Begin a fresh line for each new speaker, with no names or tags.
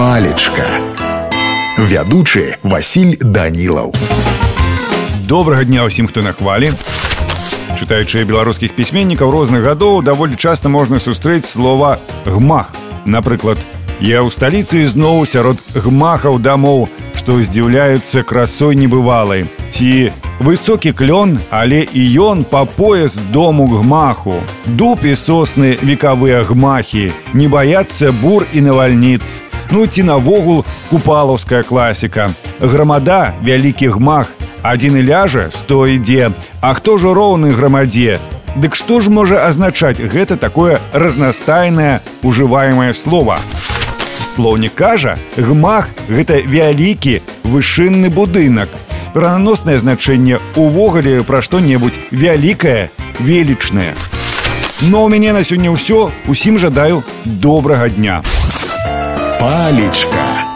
Палечка. Вядучы Васіль Данілаў.
Добрага дня ўсім, хто на хвалі. Чытаючы беларускіх пісьменнікаў розных гадоў, даволі часта можна сустрэць слова «гмах». Напрыклад, я ў сталіцы зноў сярод гмахаў дамоў, што здзіўляюцца красой небывалай. Ці высокі клён, але і ён па пояс дому гмаху. Дуб і сосны векавыя гмахі, не баяцца бур і навальніц. Ну ці навогул купалаўская класіка. Грамада — вялікі гмах, адзін і ляжа, 100 ідзе. А хто ж роўны грамадзе? Дык што ж можа азначаць гэта такое разнастайнае ужываемае слова? Слоўнік кажа, гмах — гэта вялікі вышынны будынак. Пераноснае значэнне увогуле пра што-небудзь вялікае, велічнае. Ну а ў мяне на сёння ўсё. Усім жадаю добрага дня.
Палечка.